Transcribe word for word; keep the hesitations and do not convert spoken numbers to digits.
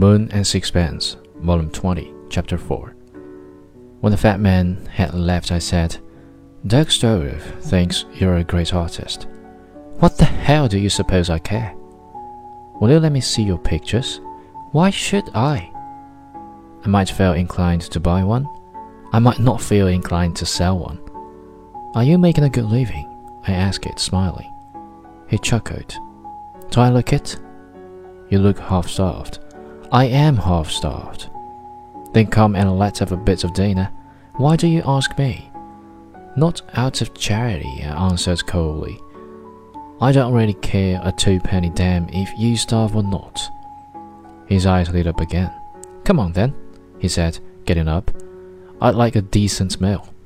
Moon and Sixpence, Volume twenty, Chapter four. When the fat man had left, I said, Doug Storoff thinks you're a great artist. What the hell do you suppose I care? Will you let me see your pictures? Why should I? I might feel inclined to buy one. I might not feel inclined to sell one. Are you making a good living? I asked it, smiling. He chuckled. Do I look it? You look half-starved. I am half-starved. Then come and let's have a bit of dinner. Why do you ask me? Not out of charity, I answered coldly. I don't really care a two-penny damn if you starve or not. His eyes lit up again. Come on then, he said, getting up. I'd like a decent meal.